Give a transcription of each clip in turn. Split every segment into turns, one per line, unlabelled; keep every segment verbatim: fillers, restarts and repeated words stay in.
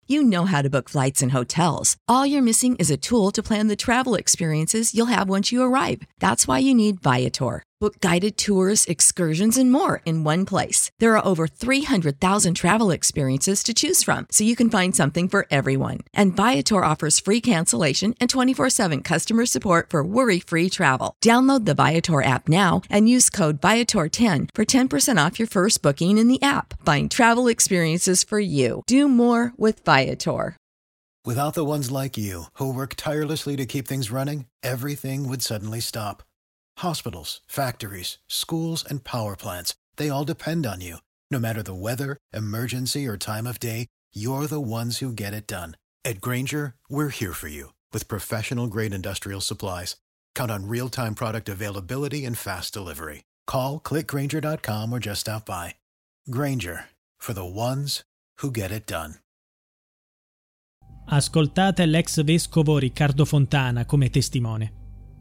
You know how to book flights and hotels. All you're missing is a tool to plan the travel experiences you'll have once you arrive. That's why you need Viator. Book guided tours, excursions, and more in one place. There are over three hundred thousand travel experiences to choose from, so you can find something for everyone. And Viator offers free cancellation and twenty-four seven customer support for worry-free travel. Download the Viator app now and use code Viator ten for ten percent off your first booking in the app. Find travel experiences for you. Do more with Viator.
Without the ones like you, who work tirelessly to keep things running, everything would suddenly stop. Hospitals, factories, schools, and power plants, they all depend on you. No matter the weather, emergency, or time of day, you're the ones who get it done. At Grainger, we're here for you with professional-grade industrial supplies. Count on real-time product availability and fast delivery. Call, click grainger dot com, or just stop by. Grainger, for the ones who get it done.
Ascoltate l'ex vescovo Riccardo Fontana come testimone.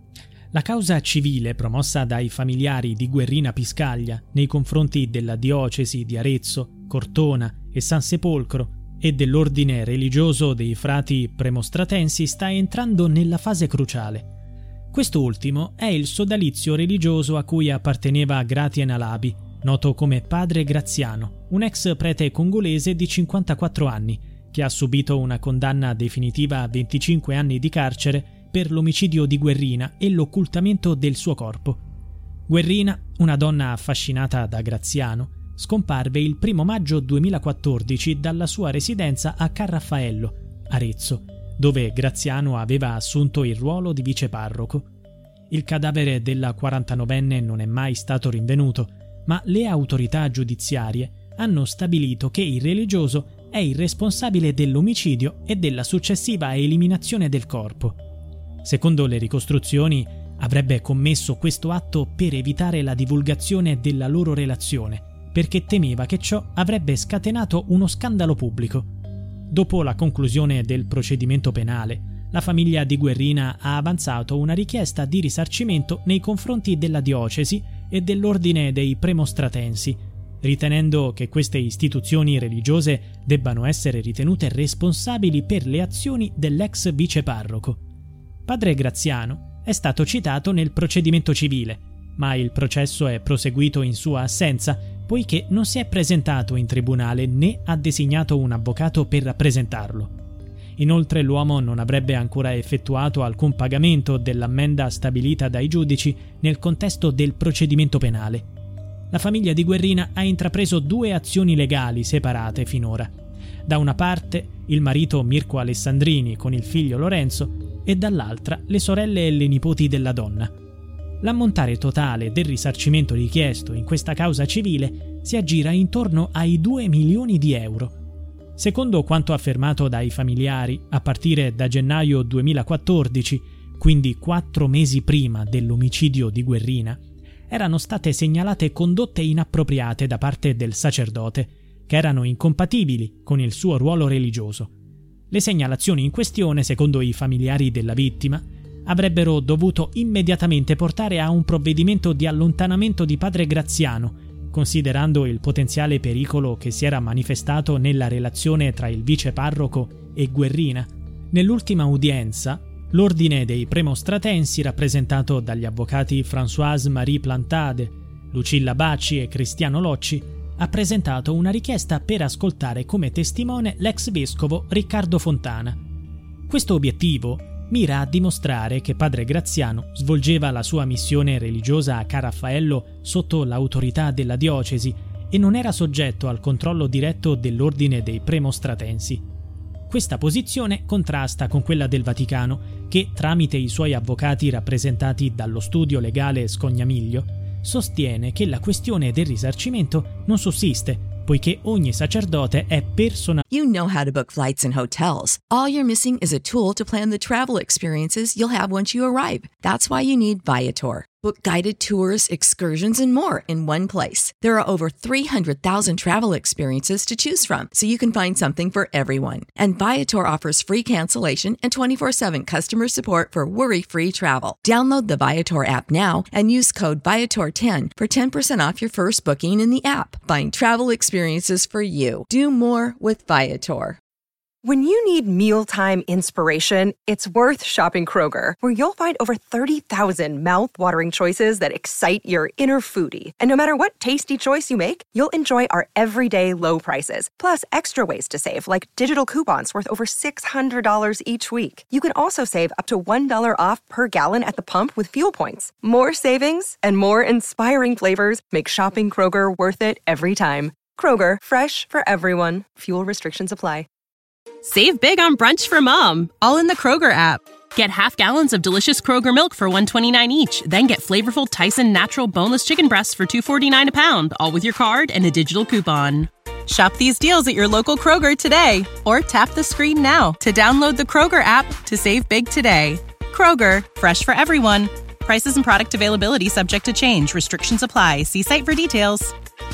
La causa civile promossa dai familiari di Guerrina Piscaglia nei confronti della diocesi di Arezzo, Cortona e San Sepolcro e dell'ordine religioso dei frati premostratensi sta entrando nella fase cruciale. Quest'ultimo è il sodalizio religioso a cui apparteneva Gratien Alabi, noto come Padre Graziano, un ex prete congolese di cinquantaquattro anni, che ha subito una condanna definitiva a venticinque anni di carcere per l'omicidio di Guerrina e l'occultamento del suo corpo. Guerrina, una donna affascinata da Graziano, scomparve il primo maggio duemilaquattordici dalla sua residenza a Carraffaello, Arezzo, dove Graziano aveva assunto il ruolo di viceparroco. Il cadavere della quarantanovenne non è mai stato rinvenuto, ma le autorità giudiziarie hanno stabilito che il religioso è il responsabile dell'omicidio e della successiva eliminazione del corpo. Secondo le ricostruzioni, avrebbe commesso questo atto per evitare la divulgazione della loro relazione, perché temeva che ciò avrebbe scatenato uno scandalo pubblico. Dopo la conclusione del procedimento penale, la famiglia di Guerrina ha avanzato una richiesta di risarcimento nei confronti della diocesi e dell'ordine dei premostratensi, ritenendo che queste istituzioni religiose debbano essere ritenute responsabili per le azioni dell'ex viceparroco. Padre Graziano è stato citato nel procedimento civile, ma il processo è proseguito in sua assenza, poiché non si è presentato in tribunale né ha designato un avvocato per rappresentarlo. Inoltre l'uomo non avrebbe ancora effettuato alcun pagamento dell'ammenda stabilita dai giudici nel contesto del procedimento penale. La famiglia di Guerrina ha intrapreso due azioni legali separate finora. Da una parte il marito Mirko Alessandrini con il figlio Lorenzo e dall'altra le sorelle e le nipoti della donna. L'ammontare totale del risarcimento richiesto in questa causa civile si aggira intorno ai due milioni di euro. Secondo quanto affermato dai familiari, a partire da gennaio duemilaquattordici, quindi quattro mesi prima dell'omicidio di Guerrina, erano state segnalate condotte inappropriate da parte del sacerdote, che erano incompatibili con il suo ruolo religioso. Le segnalazioni in questione, secondo i familiari della vittima, avrebbero dovuto immediatamente portare a un provvedimento di allontanamento di padre Graziano, considerando il potenziale pericolo che si era manifestato nella relazione tra il viceparroco e Guerrina. Nell'ultima udienza, l'ordine dei premostratensi, rappresentato dagli avvocati Françoise-Marie Plantade, Lucilla Bacci e Cristiano Locci, ha presentato una richiesta per ascoltare come testimone l'ex vescovo Riccardo Fontana. Questo obiettivo mira a dimostrare che padre Graziano svolgeva la sua missione religiosa a Carraffaello sotto l'autorità della diocesi e non era soggetto al controllo diretto dell'ordine dei premostratensi. Questa posizione contrasta con quella del Vaticano, che, tramite i suoi avvocati rappresentati dallo studio legale Scognamiglio, sostiene che la questione del risarcimento non sussiste, poiché ogni sacerdote è personale.
You know how to book flights and hotels. All you're missing is a tool to plan the travel experiences you'll have once you arrive. That's why you need Viator. Book guided tours, excursions, and more in one place. There are over three hundred thousand travel experiences to choose from, so you can find something for everyone. And Viator offers free cancellation and twenty-four seven customer support for worry-free travel. Download the Viator app now and use code Viator ten for ten percent off your first booking in the app. Find travel experiences for you. Do more with Viator.
When you need mealtime inspiration, it's worth shopping Kroger, where you'll find over thirty thousand mouth-watering choices that excite your inner foodie. And no matter what tasty choice you make, you'll enjoy our everyday low prices, plus extra ways to save, like digital coupons worth over six hundred dollars each week. You can also save up to one dollar off per gallon at the pump with fuel points. More savings and more inspiring flavors make shopping Kroger worth it every time. Kroger, fresh for everyone. Fuel restrictions apply.
Save big on brunch for mom, all in the Kroger app. Get half gallons of delicious Kroger milk for one dollar and twenty-nine cents each. Then get flavorful Tyson natural boneless chicken breasts for two dollars and forty-nine cents a pound, all with your card and a digital coupon. Shop these deals at your local Kroger today, or tap the screen now to download the Kroger app to save big today. Kroger, fresh for everyone. Prices and product availability subject to change. Restrictions apply. See site for details.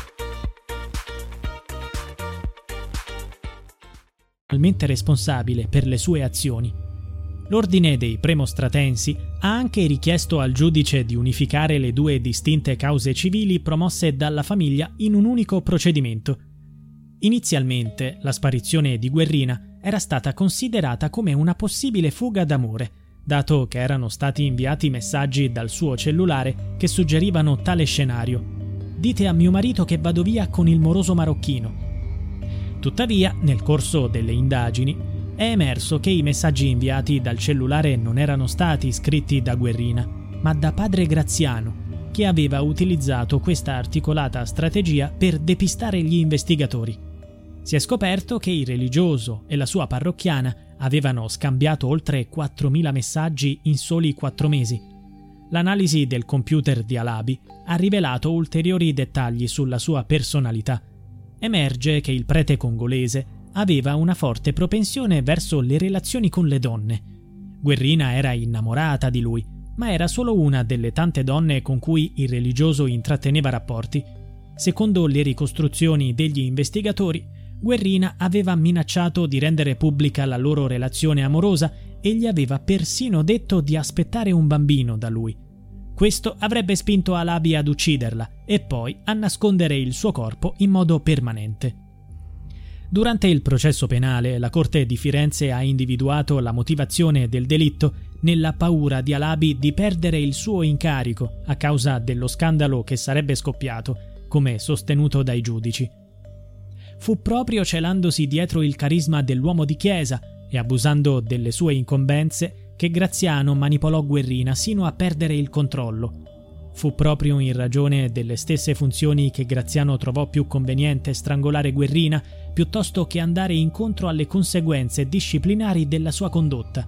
Responsabile per le sue azioni. L'ordine dei Premostratensi ha anche richiesto al giudice di unificare le due distinte cause civili promosse dalla famiglia in un unico procedimento. Inizialmente la sparizione di Guerrina era stata considerata come una possibile fuga d'amore, dato che erano stati inviati messaggi dal suo cellulare che suggerivano tale scenario: "Dite a mio marito che vado via con il moroso marocchino". Tuttavia, nel corso delle indagini, è emerso che i messaggi inviati dal cellulare non erano stati scritti da Guerrina, ma da padre Graziano, che aveva utilizzato questa articolata strategia per depistare gli investigatori. Si è scoperto che il religioso e la sua parrocchiana avevano scambiato oltre quattromila messaggi in soli quattro mesi. L'analisi del computer di Alabi ha rivelato ulteriori dettagli sulla sua personalità. Emerge che il prete congolese aveva una forte propensione verso le relazioni con le donne. Guerrina era innamorata di lui, ma era solo una delle tante donne con cui il religioso intratteneva rapporti. Secondo le ricostruzioni degli investigatori, Guerrina aveva minacciato di rendere pubblica la loro relazione amorosa e gli aveva persino detto di aspettare un bambino da lui. Questo avrebbe spinto Alabi ad ucciderla e poi a nascondere il suo corpo in modo permanente. Durante il processo penale, la Corte di Firenze ha individuato la motivazione del delitto nella paura di Alabi di perdere il suo incarico a causa dello scandalo che sarebbe scoppiato, come sostenuto dai giudici. Fu proprio celandosi dietro il carisma dell'uomo di chiesa e abusando delle sue incombenze che Graziano manipolò Guerrina sino a perdere il controllo. Fu proprio in ragione delle stesse funzioni che Graziano trovò più conveniente strangolare Guerrina piuttosto che andare incontro alle conseguenze disciplinari della sua condotta.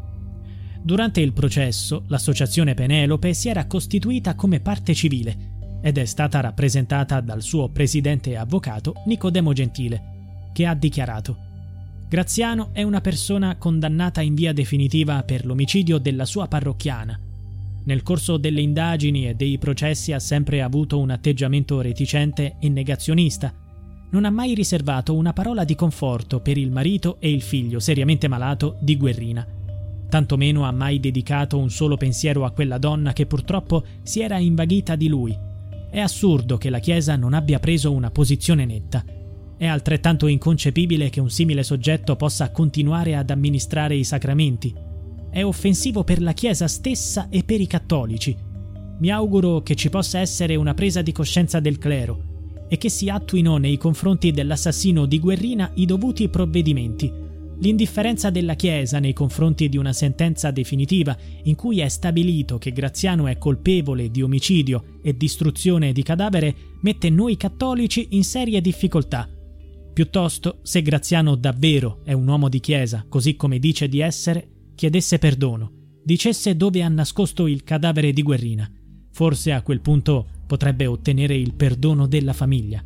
Durante il processo, l'associazione Penelope si era costituita come parte civile ed è stata rappresentata dal suo presidente e avvocato Nicodemo Gentile, che ha dichiarato: Graziano è una persona condannata in via definitiva per l'omicidio della sua parrocchiana. Nel corso delle indagini e dei processi ha sempre avuto un atteggiamento reticente e negazionista. Non ha mai riservato una parola di conforto per il marito e il figlio seriamente malato di Guerrina. Tantomeno ha mai dedicato un solo pensiero a quella donna che purtroppo si era invaghita di lui. È assurdo che la Chiesa non abbia preso una posizione netta. È altrettanto inconcepibile che un simile soggetto possa continuare ad amministrare i sacramenti. È offensivo per la Chiesa stessa e per i cattolici. Mi auguro che ci possa essere una presa di coscienza del clero e che si attuino nei confronti dell'assassino di Guerrina i dovuti provvedimenti. L'indifferenza della Chiesa nei confronti di una sentenza definitiva in cui è stabilito che Graziano è colpevole di omicidio e distruzione di cadavere mette noi cattolici in serie difficoltà. Piuttosto, se Graziano davvero è un uomo di chiesa, così come dice di essere, chiedesse perdono, dicesse dove ha nascosto il cadavere di Guerrina. Forse a quel punto potrebbe ottenere il perdono della famiglia.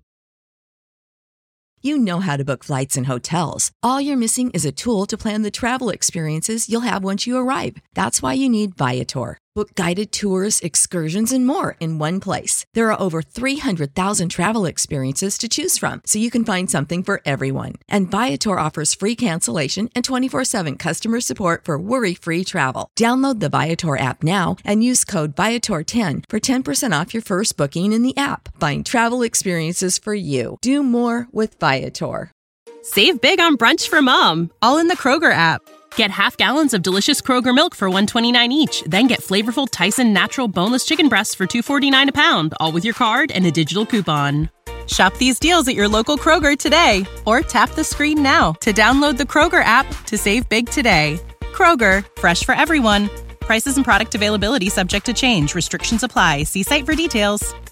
You know how to book flights and hotels. All you're missing is a tool to plan the travel experiences you'll have once you arrive. That's why you need Viator. Book guided tours, excursions, and more in one place. There are over three hundred thousand travel experiences to choose from, so you can find something for everyone. And Viator offers free cancellation and twenty-four seven customer support for worry-free travel. Download the Viator app now and use code Viator ten for ten percent off your first booking in the app. Find travel experiences for you. Do more with Viator.
Save big on brunch for mom, all in the Kroger app. Get half gallons of delicious Kroger milk for one dollar and twenty-nine cents each. Then get flavorful Tyson natural boneless chicken breasts for two dollars and forty-nine cents a pound, all with your card and a digital coupon. Shop these deals at your local Kroger today, or tap the screen now to download the Kroger app to save big today. Kroger, fresh for everyone. Prices and product availability subject to change. Restrictions apply. See site for details.